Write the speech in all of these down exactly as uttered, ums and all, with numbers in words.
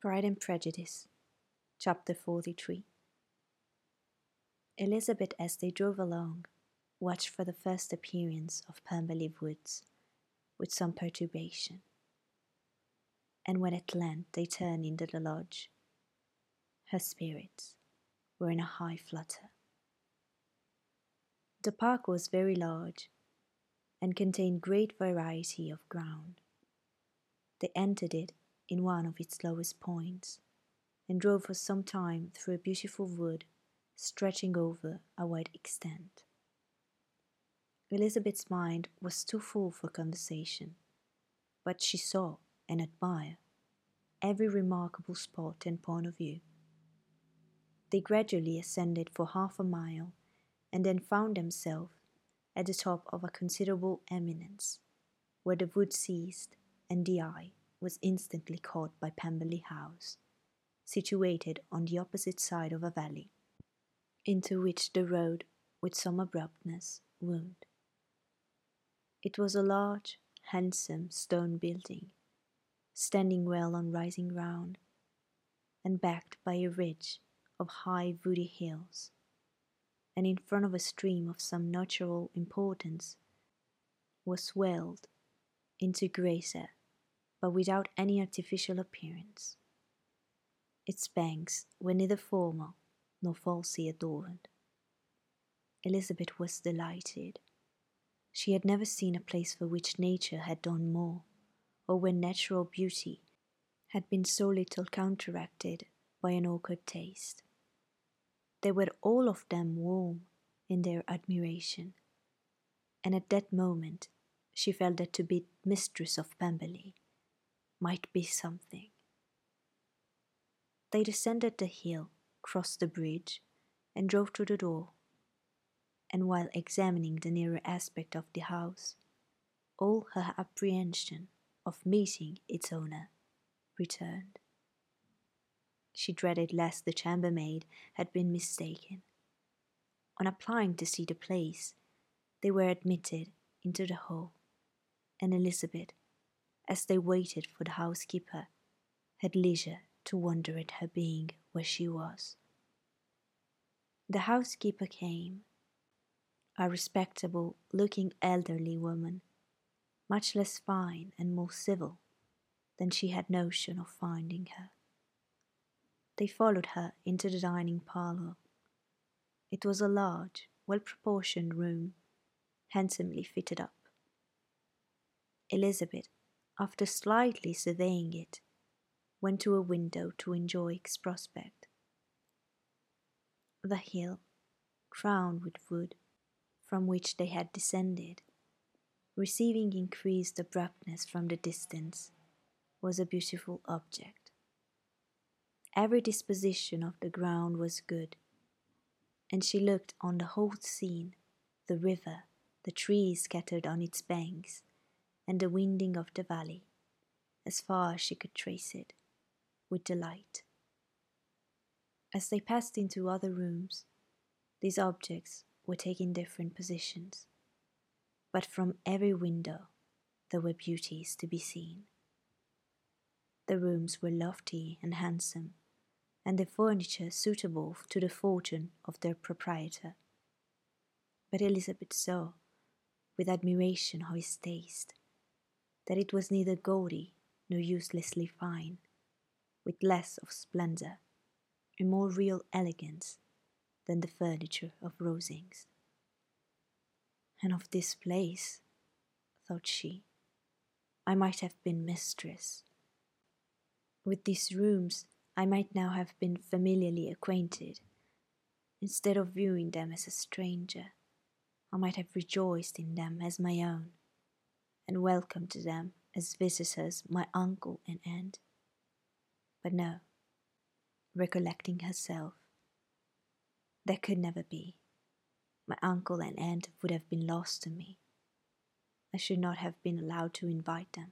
Pride and Prejudice, Chapter forty-three. Elizabeth, as they drove along, watched for the first appearance of Pemberley Woods with some perturbation, and when at length they turned into the lodge, her spirits were in a high flutter. The park was very large, and contained great variety of ground. They entered it in one of its lowest points, and drove for some time through a beautiful wood stretching over a wide extent. Elizabeth's mind was too full for conversation, but she saw and admired every remarkable spot and point of view. They gradually ascended for half a mile, and then found themselves at the top of a considerable eminence, where the wood ceased, and the eye was instantly caught by Pemberley House, situated on the opposite side of a valley, into which the road, with some abruptness, wound. It was a large, handsome stone building, standing well on rising ground, and backed by a ridge of high woody hills, and in front of a stream of some natural importance, was swelled into grazer, but without any artificial appearance. Its banks were neither formal nor falsely adorned. Elizabeth was delighted. She had never seen a place for which nature had done more, or where natural beauty had been so little counteracted by an awkward taste. They were all of them warm in their admiration, and at that moment she felt that to be mistress of Pemberley might be something. They descended the hill, crossed the bridge, and drove to the door, and while examining the nearer aspect of the house, all her apprehension of meeting its owner returned. She dreaded lest the chambermaid had been mistaken. On applying to see the place, they were admitted into the hall, and Elizabeth, as they waited for the housekeeper, had leisure to wonder at her being where she was. The housekeeper came, a respectable-looking elderly woman, much less fine and more civil than she had notion of finding her. They followed her into the dining parlour. It was a large, well-proportioned room, handsomely fitted up. Elizabeth, after slightly surveying it, went to a window to enjoy its prospect. The hill, crowned with wood, from which they had descended, receiving increased abruptness from the distance, was a beautiful object. Every disposition of the ground was good, and she looked on the whole scene, the river, the trees scattered on its banks, and the winding of the valley, as far as she could trace it, with delight. As they passed into other rooms, these objects were taking different positions, but from every window there were beauties to be seen. The rooms were lofty and handsome, and the furniture suitable to the fortune of their proprietor. But Elizabeth saw, with admiration of his taste, that it was neither gaudy nor uselessly fine, with less of splendour and more real elegance than the furniture of Rosings. And of this place, thought she, I might have been mistress. With these rooms I might now have been familiarly acquainted. Instead of viewing them as a stranger, I might have rejoiced in them as my own, and welcomed them as visitors my uncle and aunt. But no, recollecting herself, that could never be. My uncle and aunt would have been lost to me. I should not have been allowed to invite them.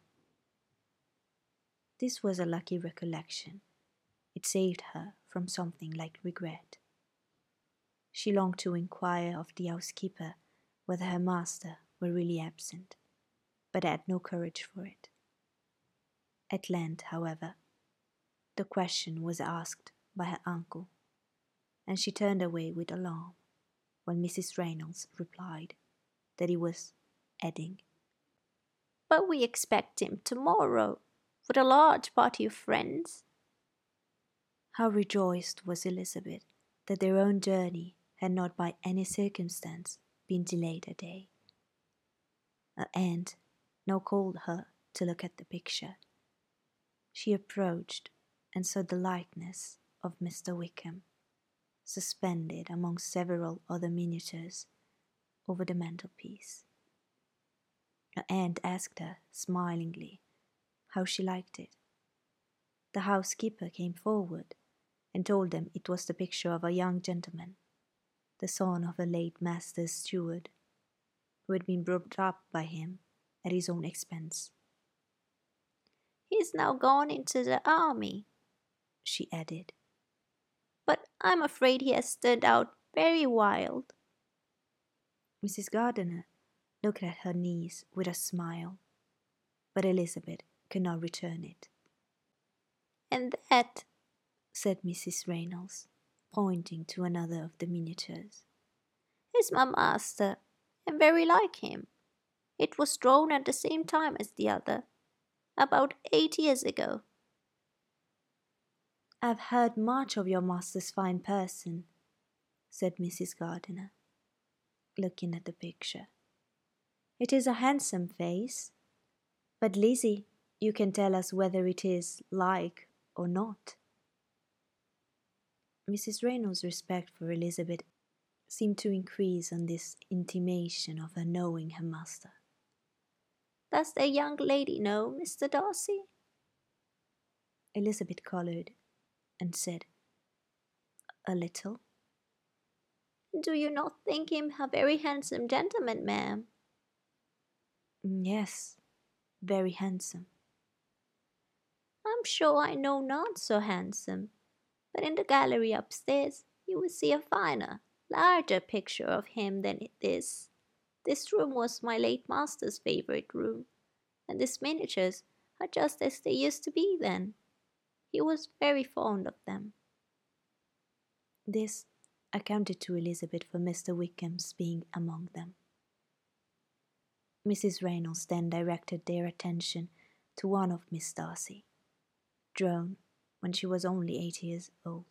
This was a lucky recollection. It saved her from something like regret. She longed to inquire of the housekeeper whether her master were really absent, but had no courage for it. At length, however, The question was asked by her uncle, and she turned away with alarm, while Missus Reynolds replied that he was adding, "But we expect him tomorrow, with a large party of friends." How rejoiced was Elizabeth that their own journey had not by any circumstance been delayed a day. Her aunt now called her to look at the picture. She approached and saw the likeness of Mister Wickham, suspended among several other miniatures over the mantelpiece. Her aunt asked her smilingly how she liked it. The housekeeper came forward and told them it was the picture of a young gentleman, the son of a late master's steward, who had been brought up by him at his own expense. "He is now gone into the army," she added, "but I'm afraid he has turned out very wild." Missus Gardiner looked at her niece with a smile, but Elizabeth could not return it. "And that," said Missus Reynolds, pointing to another of the miniatures, "is my master, and very like him. It was drawn at the same time as the other, about eight years ago." "I've heard much of your master's fine person," said Missus Gardiner, looking at the picture. "It is a handsome face, but Lizzie, you can tell us whether it is like or not." Missus Reynolds' respect for Elizabeth seemed to increase on this intimation of her knowing her master. "Does the young lady know Mister Darcy?" Elizabeth coloured and said, "A little." "Do you not think him a very handsome gentleman, ma'am?" "Yes, very handsome." "I'm sure I know none so handsome, but in the gallery upstairs you will see a finer, larger picture of him than this. This room was my late master's favourite room, and these miniatures are just as they used to be then. He was very fond of them." This accounted to Elizabeth for Mister Wickham's being among them. Missus Reynolds then directed their attention to one of Miss Darcy, drawn when she was only eight years old.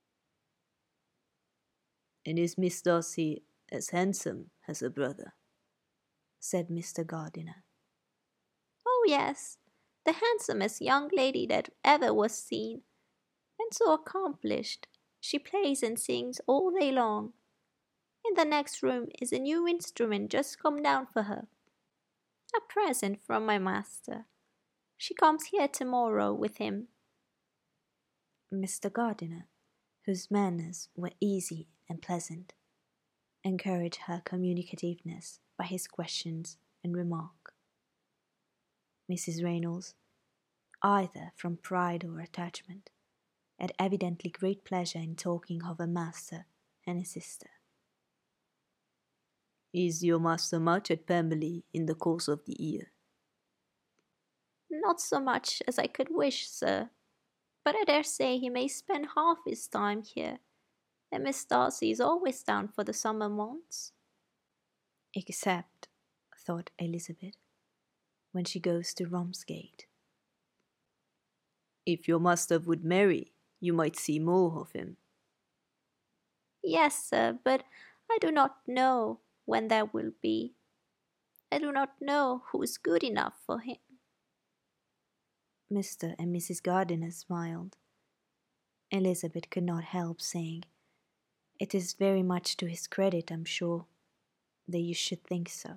"And is Miss Darcy as handsome as her brother?" said Mister Gardiner. "Oh yes, the handsomest young lady that ever was seen, and so accomplished. She plays and sings all day long. In the next room is a new instrument just come down for her, a present from my master. She comes here tomorrow with him." Mister Gardiner, whose manners were easy and pleasant, encouraged her communicativeness by his questions and remark. Missus Reynolds, either from pride or attachment, had evidently great pleasure in talking of her master and his sister. "Is your master much at Pemberley in the course of the year?" "Not so much as I could wish, sir, but I dare say he may spend half his time here, and Miss Darcy is always down for the summer months." "Except," thought Elizabeth, "when she goes to Romsgate." "If your master would marry, you might see more of him." "Yes, sir, but I do not know when that will be. I do not know who is good enough for him." Mister and Missus Gardiner smiled. Elizabeth could not help saying, "It is very much to his credit, I'm sure, that you should think so."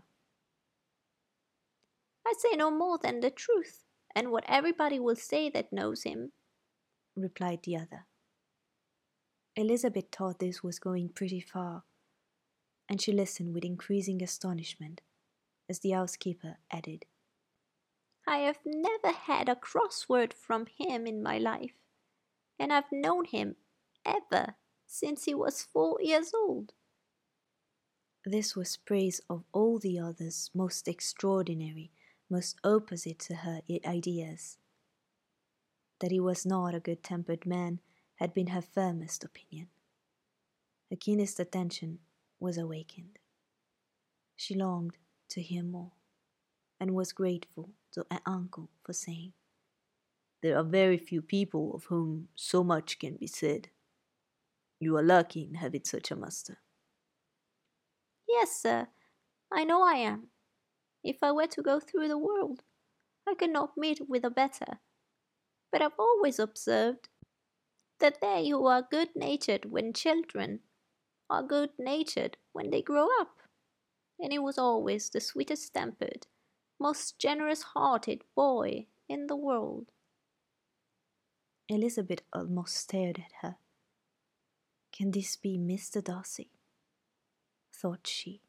"I say no more than the truth, and what everybody will say that knows him," replied the other. Elizabeth thought this was going pretty far, and she listened with increasing astonishment as the housekeeper added, "I have never had a cross word from him in my life, and I've known him ever since he was four years old." This was praise of all the others most extraordinary, most opposite to her ideas. that he was not a good-tempered man had been her firmest opinion. Her keenest attention was awakened. She longed to hear more, and was grateful to her uncle for saying, "There are very few people of whom so much can be said. You are lucky in having such a master." "Yes, sir, I know I am. If I were to go through the world, I could not meet with a better. But I've always observed that they who are good-natured when children are good-natured when they grow up. And he was always the sweetest-tempered, most generous-hearted boy in the world." Elizabeth almost stared at her. "Can this be Mister Darcy?" thought she.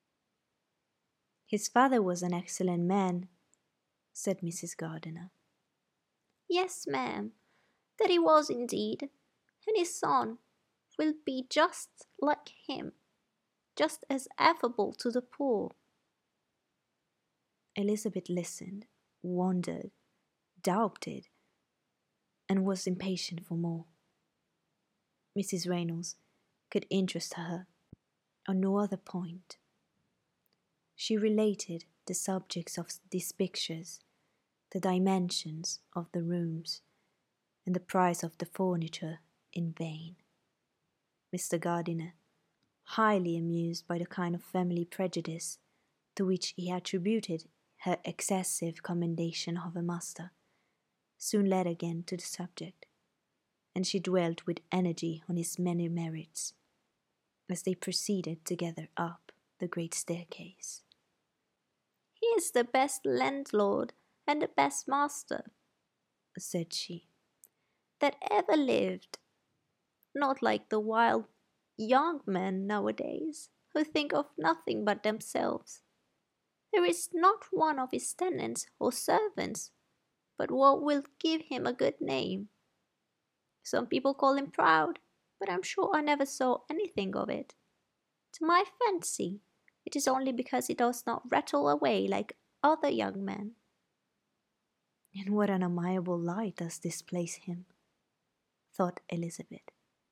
"His father was an excellent man," said Missus Gardiner. "Yes, ma'am, that he was indeed, and his son will be just like him, just as affable to the poor." Elizabeth listened, wondered, doubted, and was impatient for more. Missus Reynolds could interest her on no other point. She related the subjects of these pictures, the dimensions of the rooms, and the price of the furniture in vain. Mister Gardiner, highly amused by the kind of family prejudice to which he attributed her excessive commendation of her master, soon led again to the subject, and she dwelt with energy on his many merits, as they proceeded together up the great staircase. "He is the best landlord and the best master," said she, "that ever lived. Not like the wild young men nowadays, who think of nothing but themselves. There is not one of his tenants or servants but what will give him a good name. Some people call him proud, but I'm sure I never saw anything of it. To my fancy, it is only because he does not rattle away like other young men." "In what an amiable light does this place him," thought Elizabeth.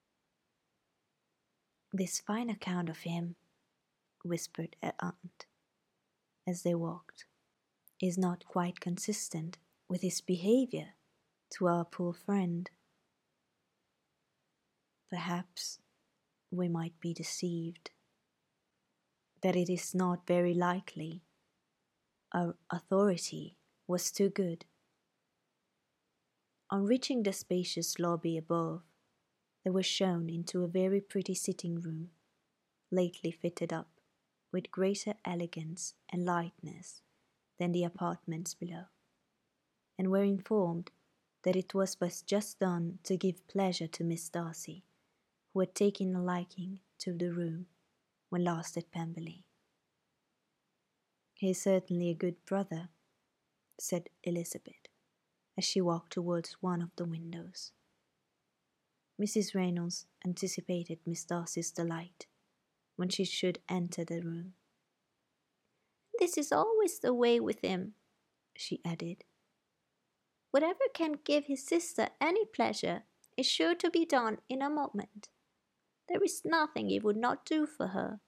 "This fine account of him," whispered her aunt, as they walked, "is not quite consistent with his behaviour to our poor friend. Perhaps we might be deceived, that it is not very likely our authority was too good." On reaching the spacious lobby above, they were shown into a very pretty sitting-room, lately fitted up with greater elegance and lightness than the apartments below, and were informed that it was but just done to give pleasure to Miss Darcy, who had taken a liking to the room when last at Pemberley. "He is certainly a good brother," said Elizabeth, as she walked towards one of the windows. Missus Reynolds anticipated Miss Darcy's delight when she should enter the room. "This is always the way with him," she added. "Whatever can give his sister any pleasure is sure to be done in a moment. There is nothing he would not do for her."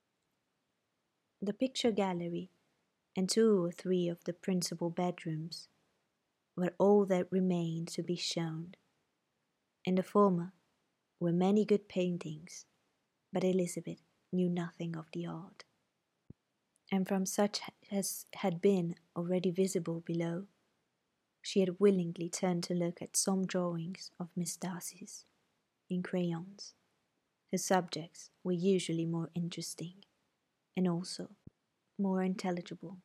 The picture gallery and two or three of the principal bedrooms were all that remained to be shown. In the former were many good paintings, but Elizabeth knew nothing of the art, and from such as had been already visible below, she had willingly turned to look at some drawings of Miss Darcy's in crayons, whose subjects were usually more interesting and also more intelligible.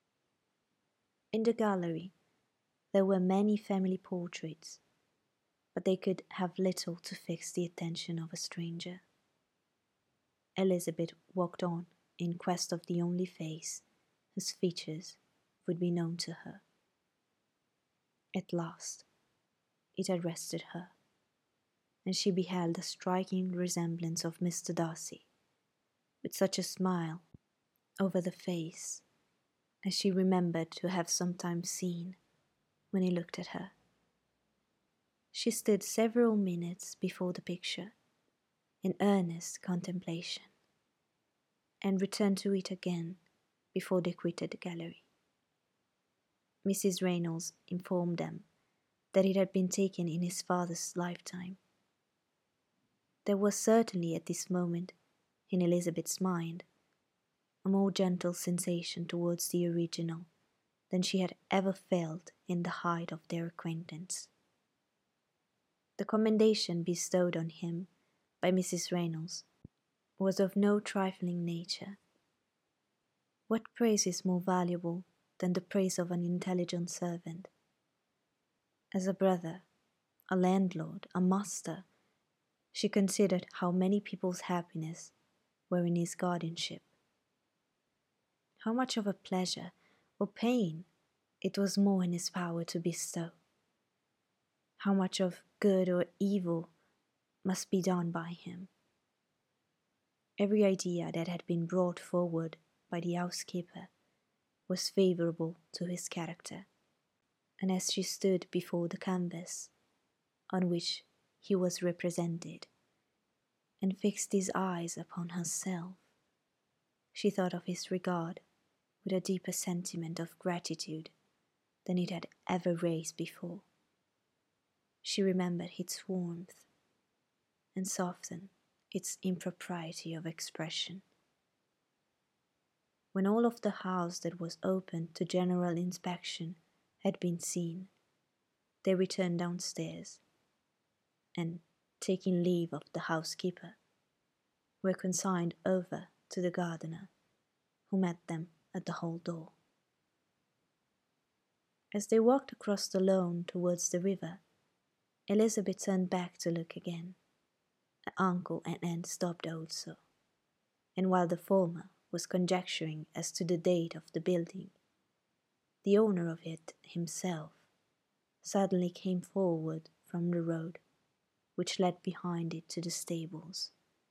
In the gallery there were many family portraits, but they could have little to fix the attention of a stranger. Elizabeth walked on in quest of the only face whose features would be known to her. At last it arrested her, and she beheld a striking resemblance of Mister Darcy, with such a smile over the face as she remembered to have sometimes seen when he looked at her. She stood several minutes before the picture, in earnest contemplation, and returned to it again before they quitted the gallery. Missus Reynolds informed them that it had been taken in his father's lifetime. There was certainly at this moment, in Elizabeth's mind, a more gentle sensation towards the original than she had ever felt in the height of their acquaintance. The commendation bestowed on him by Missus Reynolds was of no trifling nature. What praise is more valuable than the praise of an intelligent servant? As a brother, a landlord, a master, she considered how many people's happiness were in his guardianship. How much of a pleasure or pain it was more in his power to bestow. How much of good or evil must be done by him. Every idea that had been brought forward by the housekeeper was favourable to his character, and as she stood before the canvas on which he was represented, and fixed his eyes upon herself, she thought of his regard with a deeper sentiment of gratitude than it had ever raised before. She remembered its warmth, and softened its impropriety of expression. When all of the house that was open to general inspection had been seen, they returned downstairs, and, taking leave of the housekeeper, were consigned over to the gardener, who met them at the hall door. As they walked across the lawn towards the river, Elizabeth turned back to look again. Her uncle and aunt stopped also, and while the former was conjecturing as to the date of the building, the owner of it himself suddenly came forward from the road which led behind it to the stables.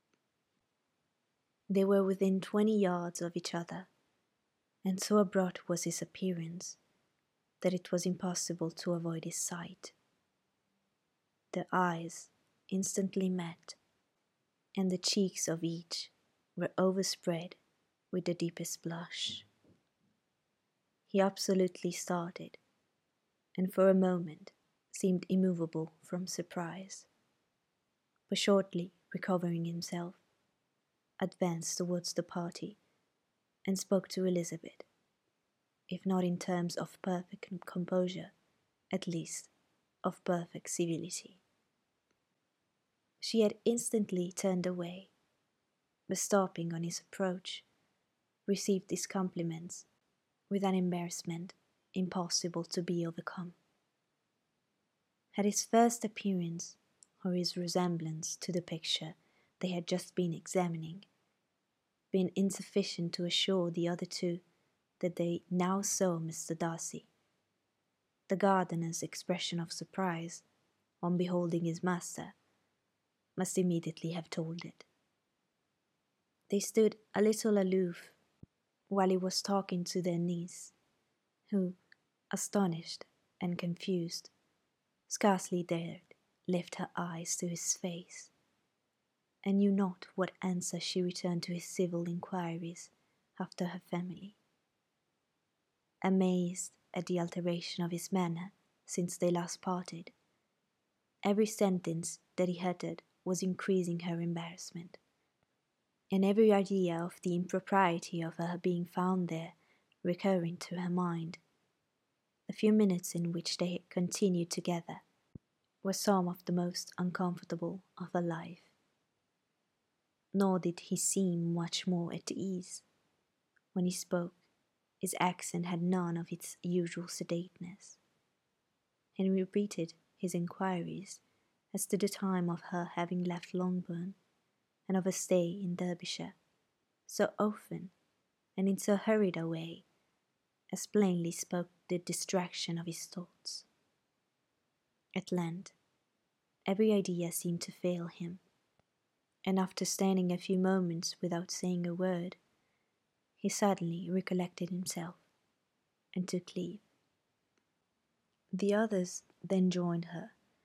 They were within twenty yards of each other, and so abrupt was his appearance that it was impossible to avoid his sight. Their eyes instantly met, and the cheeks of each were overspread with the deepest blush. He absolutely started, and for a moment seemed immovable from surprise, but shortly recovering himself, advanced towards the party and spoke to Elizabeth, if not in terms of perfect composure, at least of perfect civility. She had instantly turned away, but stopping on his approach, received his compliments with an embarrassment impossible to be overcome. Had his first appearance, or his resemblance to the picture they had just been examining, been insufficient to assure the other two that they now saw Mister Darcy, the gardener's expression of surprise on beholding his master must immediately have told it. They stood a little aloof while he was talking to their niece, who, astonished and confused, scarcely dared lift her eyes to his face, and knew not what answer she returned to his civil inquiries after her family. Amazed at the alteration of his manner since they last parted, every sentence that he uttered was increasing her embarrassment, and every idea of the impropriety of her being found there recurring to her mind. The few minutes in which they continued together were some of the most uncomfortable of her life. Nor did he seem much more at ease. When he spoke, his accent had none of its usual sedateness, and he repeated his inquiries as to the time of her having left Longbourn, and of her stay in Derbyshire, so often and in so hurried a way as plainly spoke the distraction of his thoughts. At length, every idea seemed to fail him, and after standing a few moments without saying a word, he suddenly recollected himself, and took leave. The others then joined her,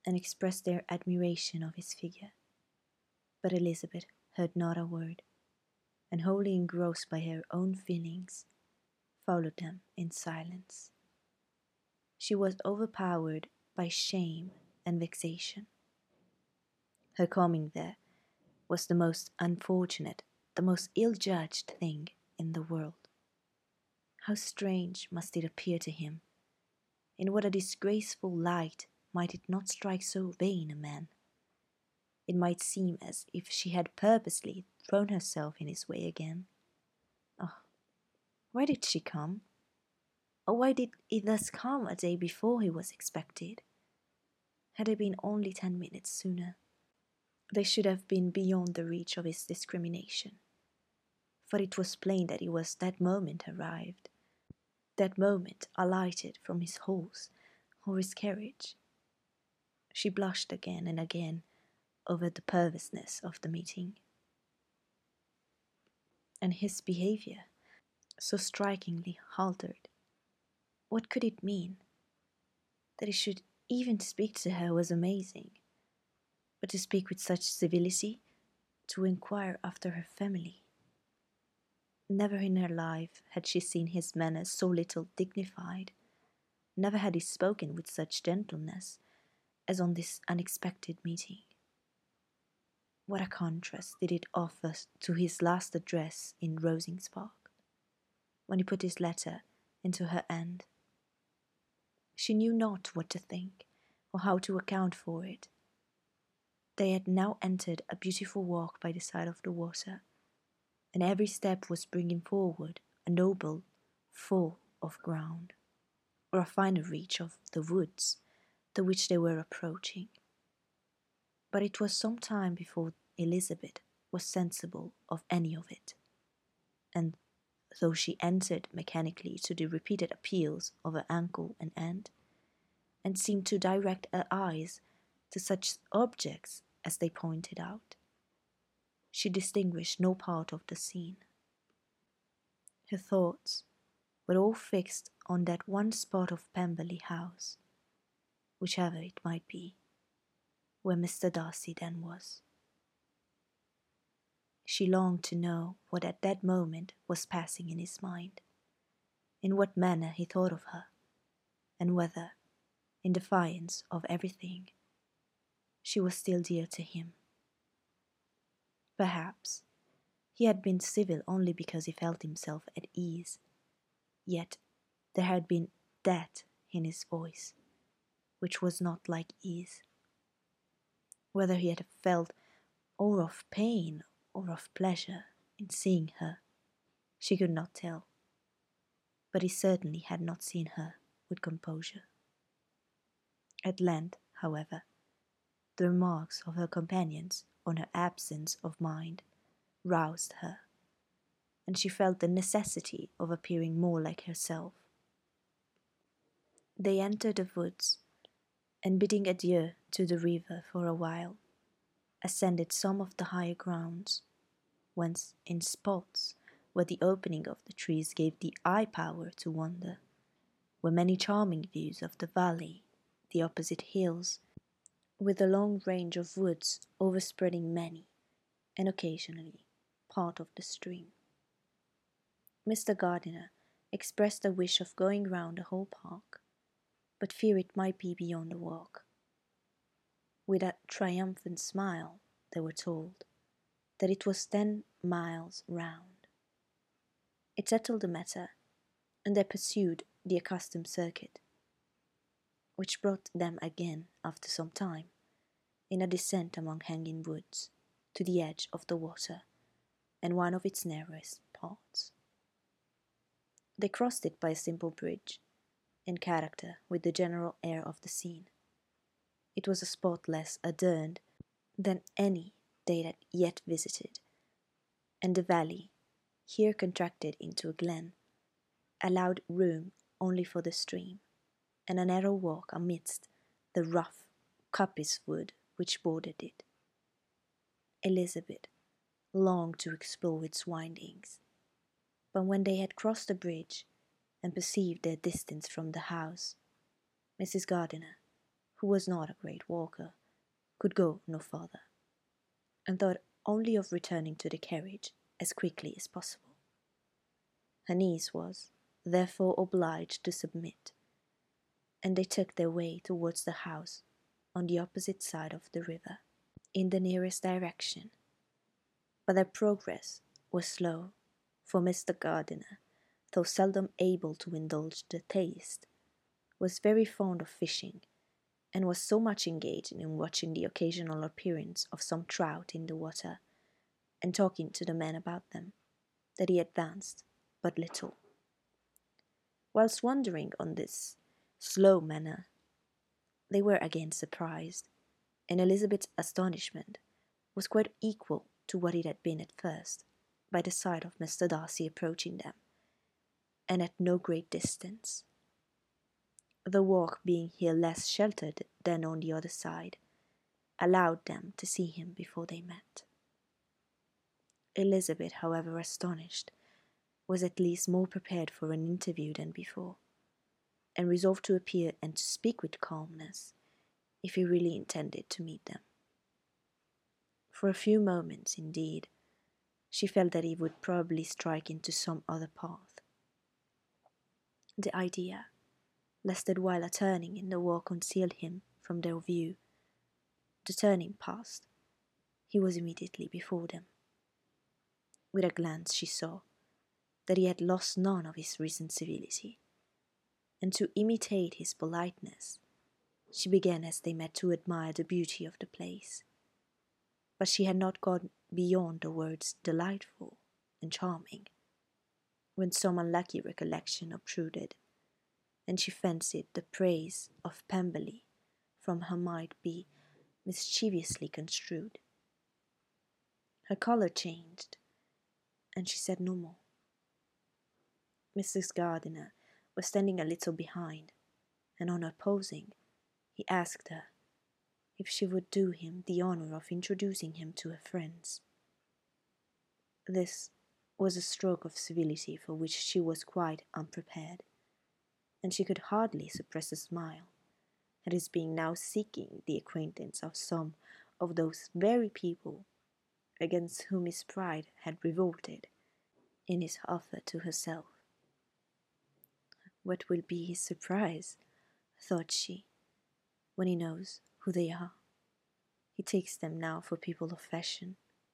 and expressed their admiration of his figure. But Elizabeth heard not a word, and wholly engrossed by her own feelings, followed them in silence. She was overpowered by shame and vexation. Her coming there was the most unfortunate, the most ill-judged thing in the world. How strange must it appear to him! In what a disgraceful light might it not strike so vain a man! It might seem as if she had purposely thrown herself in his way again. Oh, why did she come? Or why did it thus come a day before he was expected? Had it been only ten minutes sooner, they should have been beyond the reach of his discrimination. For it was plain that he was that moment arrived, that moment alighted from his horse or his carriage. She blushed again and again over the perverseness of the meeting. And his behaviour, so strikingly altered, what could it mean? That he should even speak to her was amazing, but to speak with such civility, to inquire after her family. Never in her life had she seen his manners so little dignified, never had he spoken with such gentleness as on this unexpected meeting. What a contrast did it offer to his last address in Rosings Park, when he put his letter into her hand. She knew not what to think, or how to account for it. They had now entered a beautiful walk by the side of the water, and every step was bringing forward a noble fall of ground, or a finer reach of the woods to which they were approaching. But it was some time before Elizabeth was sensible of any of it, and though she answered mechanically to the repeated appeals of her uncle and aunt, and seemed to direct her eyes to such objects as they pointed out, she distinguished no part of the scene. Her thoughts were all fixed on that one spot of Pemberley House, whichever it might be, where Mister Darcy then was. She longed to know what at that moment was passing in his mind, in what manner he thought of her, and whether, in defiance of everything, she was still dear to him. Perhaps he had been civil only because he felt himself at ease, yet there had been that in his voice which was not like ease. Whether he had felt or of pain or of pleasure in seeing her, she could not tell, but he certainly had not seen her with composure. At length, however, the remarks of her companions on her absence of mind roused her, and she felt the necessity of appearing more like herself. They entered the woods, and bidding adieu to the river for a while, ascended some of the higher grounds, whence, in spots where the opening of the trees gave the eye power to wander, were many charming views of the valley, the opposite hills, with a long range of woods overspreading many, and occasionally, part of the stream. Mister Gardiner expressed a wish of going round the whole park, but feared it might be beyond a walk. With a triumphant smile, they were told that it was ten miles round. It settled the matter, and they pursued the accustomed circuit, which brought them again, after some time, in a descent among hanging woods, to the edge of the water, and one of its narrowest parts. They crossed it by a simple bridge, in character with the general air of the scene. It was a spot less adorned than any they had yet visited, and the valley, here contracted into a glen, allowed room only for the stream, and a narrow walk amidst the rough coppice wood which bordered it. Elizabeth longed to explore its windings, but when they had crossed the bridge and perceived their distance from the house, Missus Gardiner, who was not a great walker, could go no farther, and thought only of returning to the carriage as quickly as possible. Her niece was, therefore, obliged to submit, and they took their way towards the house on the opposite side of the river, in the nearest direction. But their progress was slow, for Mister Gardiner, though seldom able to indulge the taste, was very fond of fishing, and was so much engaged in watching the occasional appearance of some trout in the water, and talking to the men about them, that he advanced but little. Whilst wondering on this slow manner, they were again surprised, and Elizabeth's astonishment was quite equal to what it had been at first, by the sight of Mister Darcy approaching them, and at no great distance. The walk being here less sheltered than on the other side, allowed them to see him before they met. Elizabeth, however astonished, was at least more prepared for an interview than before, and resolved to appear and to speak with calmness, if he really intended to meet them. For a few moments, indeed, she felt that he would probably strike into some other path. The idea, lest that while a turning in the walk concealed him from their view, the turning past, he was immediately before them. With a glance she saw that he had lost none of his recent civility, and to imitate his politeness, she began as they met to admire the beauty of the place. But she had not gone beyond the words delightful and charming, when some unlucky recollection obtruded, and she fancied the praise of Pemberley from her might be mischievously construed. Her colour changed, and she said no more. Missus Gardiner was standing a little behind, and on her pausing, he asked her if she would do him the honour of introducing him to her friends. This was a stroke of civility for which she was quite unprepared, and she could hardly suppress a smile at his being now seeking the acquaintance of some of those very people against whom his pride had revolted in his offer to herself. What will be his surprise, thought she, when he knows who they are? He takes them now for people of fashion.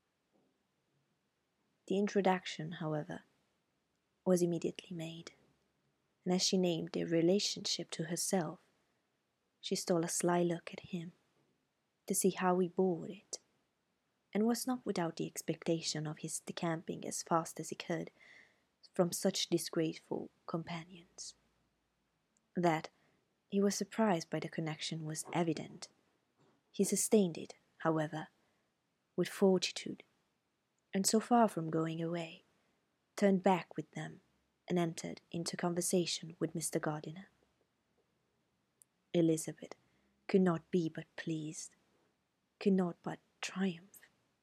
The introduction, however, was immediately made, and as she named their relationship to herself, she stole a sly look at him to see how he bore it, and was not without the expectation of his decamping as fast as he could from such disgraceful companions. That he was surprised by the connection was evident. He sustained it, however, with fortitude, and so far from going away, turned back with them and entered into conversation with Mister Gardiner. Elizabeth could not be but pleased, could not but triumph.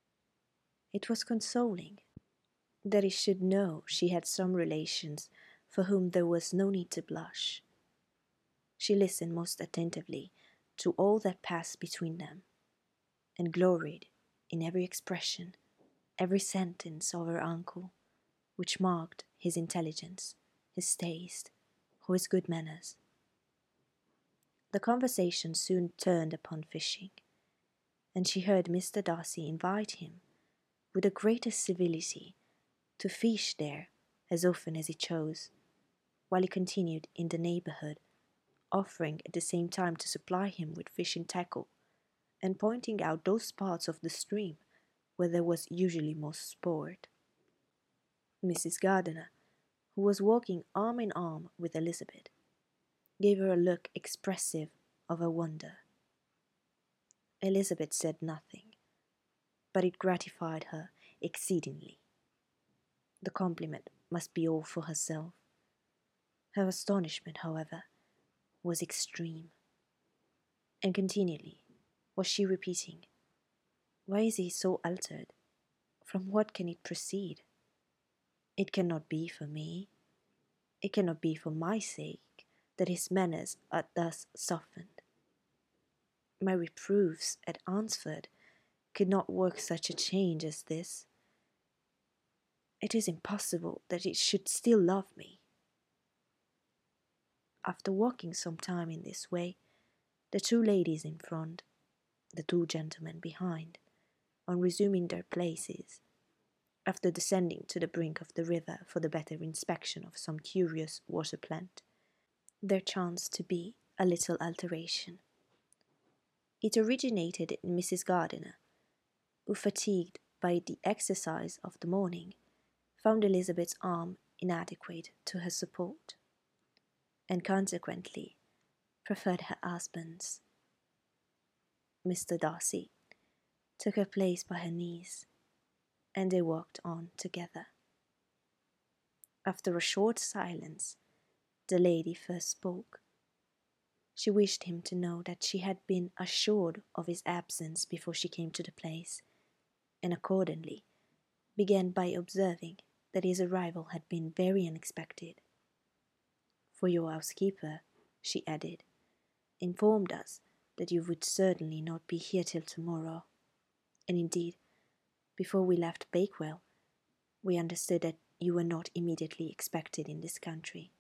It was consoling that he should know she had some relations for whom there was no need to blush. She listened most attentively to all that passed between them, and gloried in every expression, every sentence of her uncle, which marked his intelligence, his taste, or his good manners. The conversation soon turned upon fishing, and she heard Mister Darcy invite him, with the greatest civility, to fish there as often as he chose, while he continued in the neighbourhood, offering at the same time to supply him with fishing tackle, and pointing out those parts of the stream where there was usually most sport. Missus Gardiner, who was walking arm in arm with Elizabeth, gave her a look expressive of her wonder. Elizabeth said nothing, but it gratified her exceedingly. The compliment must be all for herself. Her astonishment, however, was extreme, and continually was she repeating, "Why is he so altered? From what can it proceed? It cannot be for me. It cannot be for my sake that his manners are thus softened." My reproofs at Ansford could not work such a change as this. It is impossible that it should still love me. After walking some time in this way, the two ladies in front, the two gentlemen behind, on resuming their places, after descending to the brink of the river for the better inspection of some curious water plant, there chanced to be a little alteration. It originated in Missus Gardiner, who, fatigued by the exercise of the morning, found Elizabeth's arm inadequate to her support, and consequently preferred her husband's. Mister Darcy took her place by her niece, and they walked on together. After a short silence, the lady first spoke. She wished him to know that she had been assured of his absence before she came to the place, and accordingly began by observing that his arrival had been very unexpected. For your housekeeper, she added, informed us that you would certainly not be here till tomorrow, and indeed, before we left Bakewell, we understood that you were not immediately expected in this country.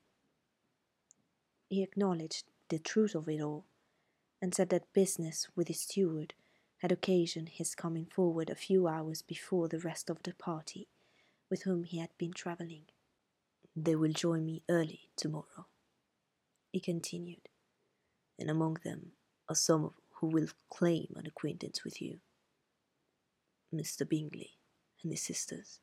He acknowledged the truth of it all, and said that business with his steward had occasioned his coming forward a few hours before the rest of the party with whom he had been travelling. They will join me early tomorrow, he continued, and among them are some who will claim an acquaintance with you, Mister Bingley and his sisters.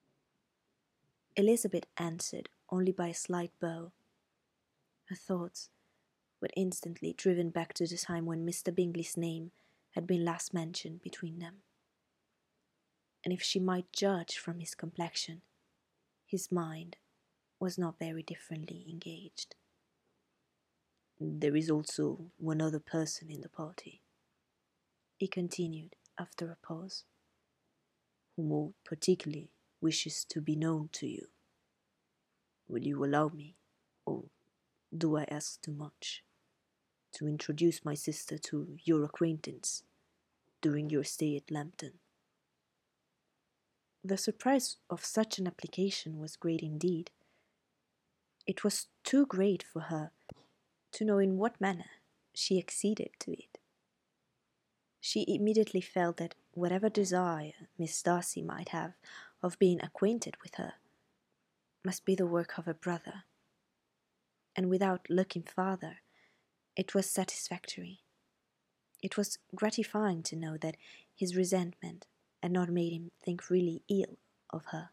Elizabeth answered only by a slight bow. Her thoughts were instantly driven back to the time when Mister Bingley's name had been last mentioned between them, and if she might judge from his complexion, his mind was not very differently engaged. There is also one other person in the party, he continued after a pause, who more particularly wishes to be known to you. Will you allow me, or do I ask too much, to introduce my sister to your acquaintance during your stay at Lambton? The surprise of such an application was great indeed. It was too great for her to know in what manner she acceded to it. She immediately felt that whatever desire Miss Darcy might have of being acquainted with her must be the work of her brother, and without looking farther, it was satisfactory. It was gratifying to know that his resentment had not made him think really ill of her.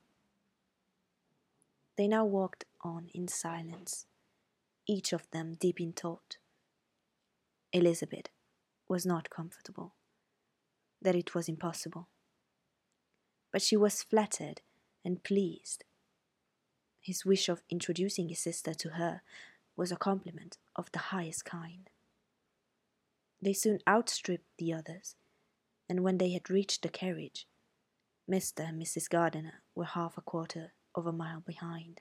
They now walked on in silence, each of them deep in thought. Elizabeth was not comfortable, that it was impossible, but she was flattered and pleased. His wish of introducing his sister to her was a compliment of the highest kind. They soon outstripped the others, and when they had reached the carriage, Mister and Missus Gardiner were half a quarter of a mile behind.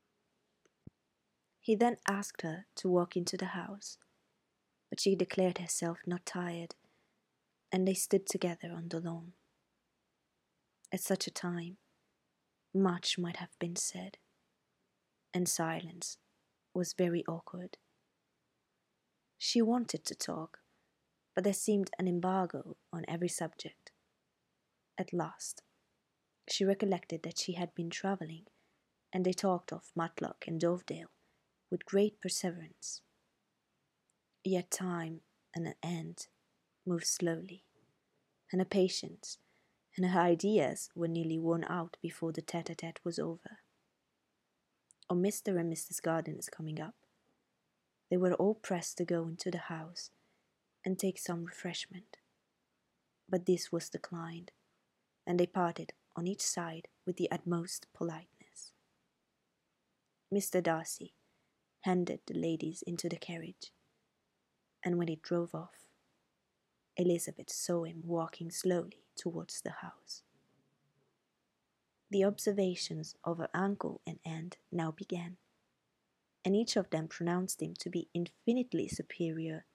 He then asked her to walk into the house, but she declared herself not tired, and they stood together on the lawn. At such a time, much might have been said, and silence was very awkward. She wanted to talk, but there seemed an embargo on every subject. At last, she recollected that she had been travelling, and they talked of Matlock and Dovedale with great perseverance. Yet time and an end moved slowly, and her patience and her ideas were nearly worn out before the tete-a-tete was over. On Mister and Missus Gardiner's coming up, they were all pressed to go into the house and take some refreshment, but this was declined, and they parted on each side with the utmost politeness. Mister Darcy handed the ladies into the carriage, and when it drove off, Elizabeth saw him walking slowly towards the house. The observations of her uncle and aunt now began, and each of them pronounced him to be infinitely superior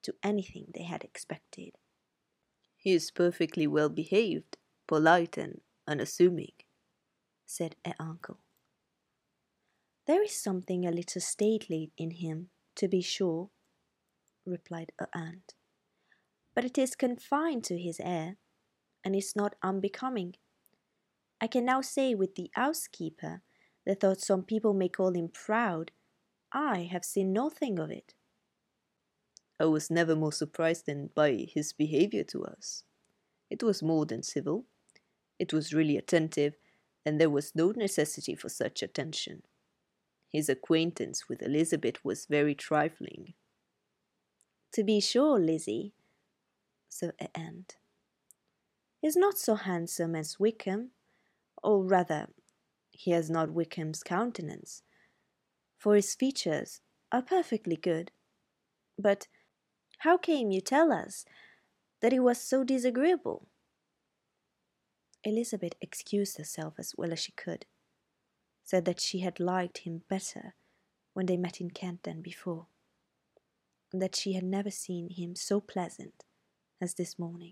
to anything they had expected. "He is perfectly well behaved, polite and unassuming," said her uncle. "There is something a little stately in him, to be sure," replied her aunt, "but it is confined to his air, and is not unbecoming. I can now say with the housekeeper that though some people may call him proud, I have seen nothing of it." "I was never more surprised than by his behaviour to us. It was more than civil. It was really attentive, and there was no necessity for such attention. His acquaintance with Elizabeth was very trifling." "To be sure, Lizzie," said her aunt, "he is not so handsome as Wickham, or rather, he has not Wickham's countenance, for his features are perfectly good. But how came you tell us that he was so disagreeable?" Elizabeth excused herself as well as she could, said that she had liked him better when they met in Kent than before, and that she had never seen him so pleasant as this morning.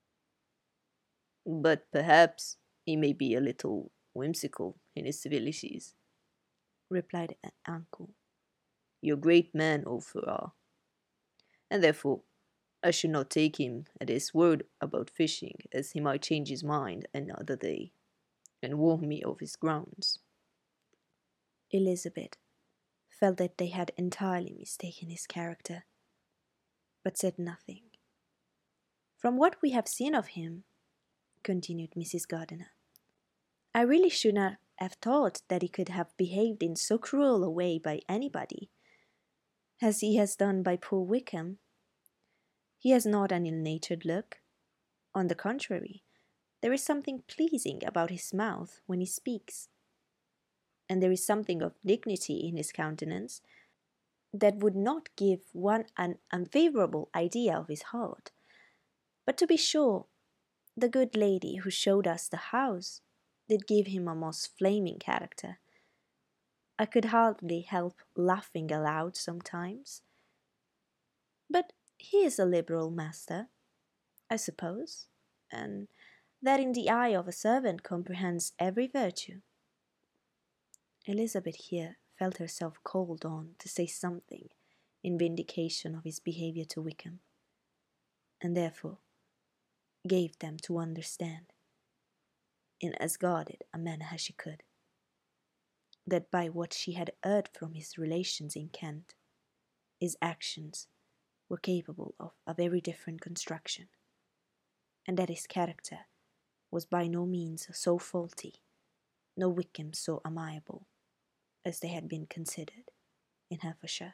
"But perhaps he may be a little whimsical in his civilities," replied her uncle. "You're a great man, old Farrar, and therefore I should not take him at his word about fishing, as he might change his mind another day, and warn me of his grounds." Elizabeth felt that they had entirely mistaken his character, but said nothing. "From what we have seen of him," continued Missus Gardiner, "I really should not have thought that he could have behaved in so cruel a way by anybody, as he has done by poor Wickham. He has not an ill-natured look. On the contrary, there is something pleasing about his mouth when he speaks, and there is something of dignity in his countenance that would not give one an unfavourable idea of his heart. But to be sure, the good lady who showed us the house did give him a most flaming character. I could hardly help laughing aloud sometimes. But he is a liberal master, I suppose, and that in the eye of a servant comprehends every virtue." Elizabeth here felt herself called on to say something in vindication of his behaviour to Wickham, and therefore gave them to understand, in as guarded a manner as she could, that by what she had heard from his relations in Kent, his actions were capable of a very different construction, and that his character was by no means so faulty, nor Wickham so amiable, as they had been considered in Hertfordshire.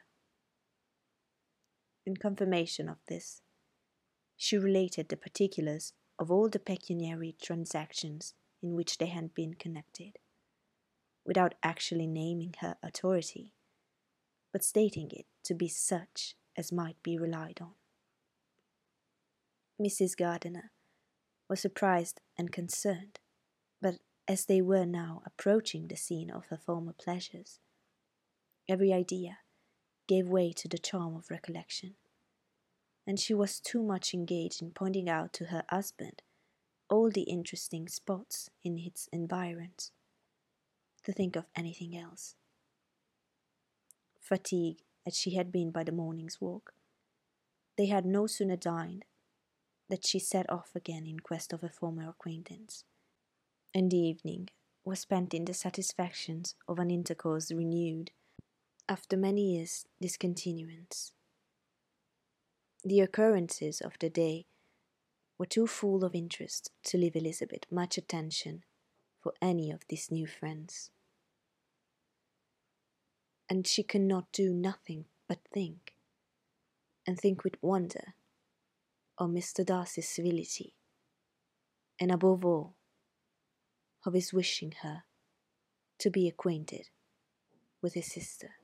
In confirmation of this, she related the particulars of all the pecuniary transactions in which they had been connected, without actually naming her authority, but stating it to be such as might be relied on. Missus Gardiner was surprised and concerned, but as they were now approaching the scene of her former pleasures, every idea gave way to the charm of recollection, and she was too much engaged in pointing out to her husband all the interesting spots in its environs to think of anything else. Fatigued as she had been by the morning's walk, they had no sooner dined that she set off again in quest of a former acquaintance, and the evening was spent in the satisfactions of an intercourse renewed after many years' discontinuance. The occurrences of the day were too full of interest to leave Elizabeth much attention for any of these new friends, and she could not do nothing but think, and think with wonder, of Mister Darcy's civility, and above all, of his wishing her to be acquainted with his sister.